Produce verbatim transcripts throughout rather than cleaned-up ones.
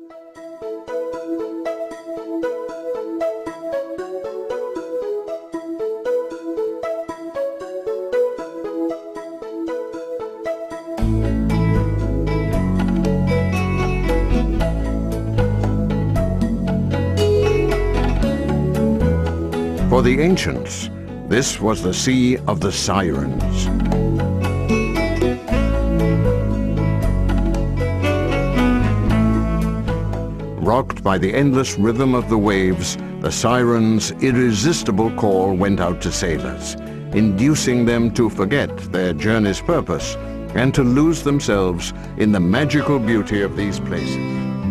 For the ancients, this was the Sea of the Sirens. Rocked by the endless rhythm of the waves, the Sirens' irresistible call went out to sailors, inducing them to forget their journey's purpose and to lose themselves in the magical beauty of these places.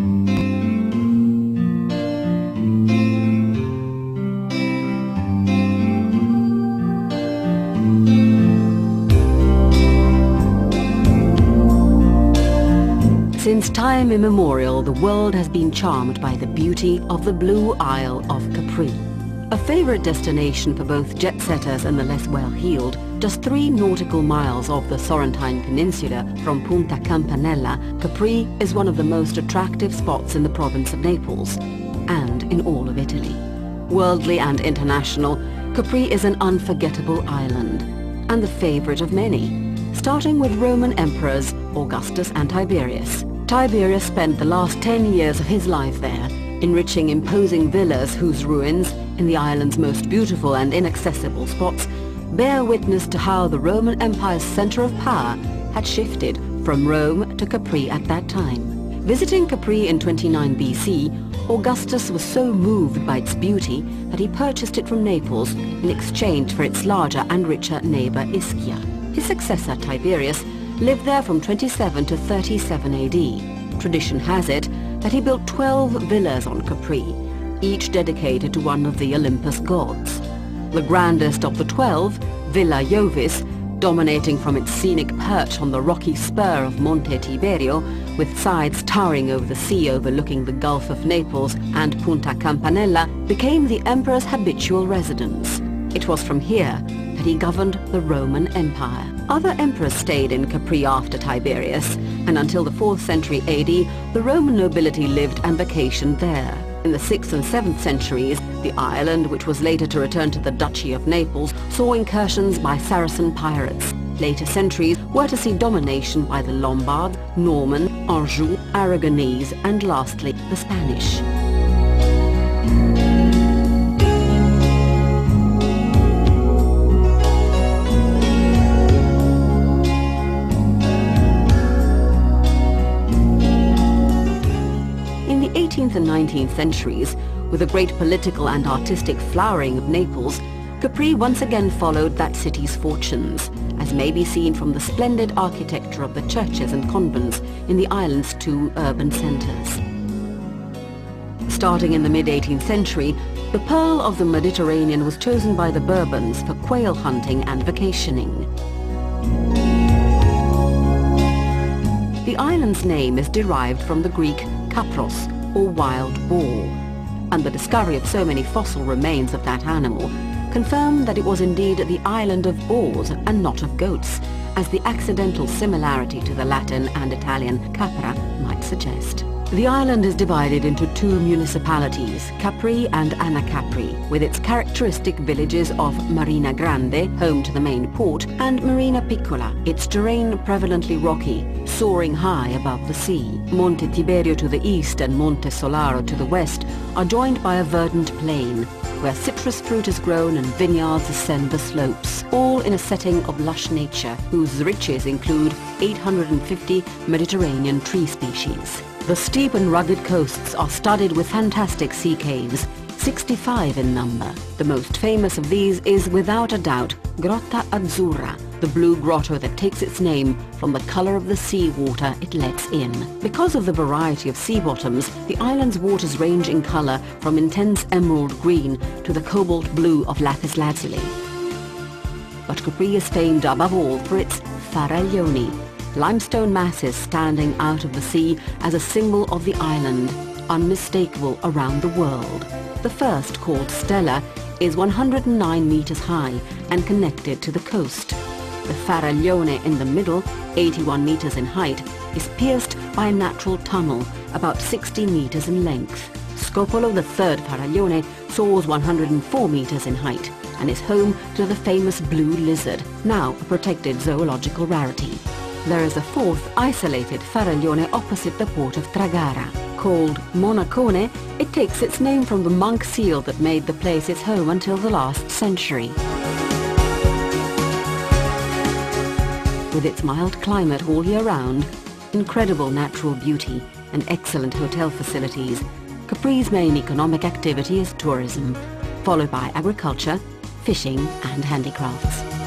Since time immemorial, the world has been charmed by the beauty of the Blue Isle of Capri. A favorite destination for both jet-setters and the less well-heeled, just three nautical miles off the Sorrentine Peninsula from Punta Campanella, Capri is one of the most attractive spots in the province of Naples, and in all of Italy. Worldly and international, Capri is an unforgettable island, and the favorite of many, starting with Roman emperors Augustus and Tiberius. Tiberius spent the last ten years of his life there, enriching imposing villas whose ruins, in the island's most beautiful and inaccessible spots, bear witness to how the Roman Empire's center of power had shifted from Rome to Capri at that time. Visiting Capri in twenty-nine B C, Augustus was so moved by its beauty that he purchased it from Naples in exchange for its larger and richer neighbor Ischia. His successor, Tiberius, lived there from twenty-seven to thirty-seven A D. Tradition has it that he built twelve villas on Capri, each dedicated to one of the Olympus gods. The grandest of the twelve, Villa Jovis, dominating from its scenic perch on the rocky spur of Monte Tiberio, with sides towering over the sea overlooking the Gulf of Naples and Punta Campanella, became the emperor's habitual residence. It was from here that he governed the Roman Empire. Other emperors stayed in Capri after Tiberius, and until the fourth century A D, the Roman nobility lived and vacationed there. In the sixth and seventh centuries, the island, which was later to return to the Duchy of Naples, saw incursions by Saracen pirates. Later centuries were to see domination by the Lombards, Norman, Anjou, Aragonese, and lastly, the Spanish. eighteenth and nineteenth centuries, with a great political and artistic flowering of Naples, Capri once again followed that city's fortunes, as may be seen from the splendid architecture of the churches and convents in the island's two urban centers. Starting in the mid-eighteenth century, the Pearl of the Mediterranean was chosen by the Bourbons for quail hunting and vacationing. The island's name is derived from the Greek kapros, or wild boar, and the discovery of so many fossil remains of that animal confirmed that it was indeed the island of boars and not of goats, as the accidental similarity to the Latin and Italian capra might suggest. The island is divided into two municipalities, Capri and Anacapri, with its characteristic villages of Marina Grande, home to the main port, and Marina Piccola, its terrain prevalently rocky, soaring high above the sea. Monte Tiberio to the east and Monte Solaro to the west are joined by a verdant plain, where citrus fruit is grown and vineyards ascend the slopes, all in a setting of lush nature, whose riches include eight hundred fifty Mediterranean tree species. The steep and rugged coasts are studded with fantastic sea caves, sixty-five in number. The most famous of these is, without a doubt, Grotta Azzurra, the blue grotto that takes its name from the color of the sea water it lets in. Because of the variety of sea bottoms, the island's waters range in color from intense emerald green to the cobalt blue of lapis lazuli. But Capri is famed above all for its faraglioni, limestone masses standing out of the sea as a symbol of the island, unmistakable around the world. The first, called Stella, is one hundred nine meters high and connected to the coast. The Faraglione in the middle, eighty-one meters in height, is pierced by a natural tunnel about sixty meters in length. Scopolo, the third Faraglione, soars one hundred four meters in height and is home to the famous blue lizard, now a protected zoological rarity. There is a fourth isolated Faraglione opposite the port of Tragara. Called Monacone, it takes its name from the monk seal that made the place its home until the last century. With its mild climate all year round, incredible natural beauty and excellent hotel facilities, Capri's main economic activity is tourism, followed by agriculture, fishing and handicrafts.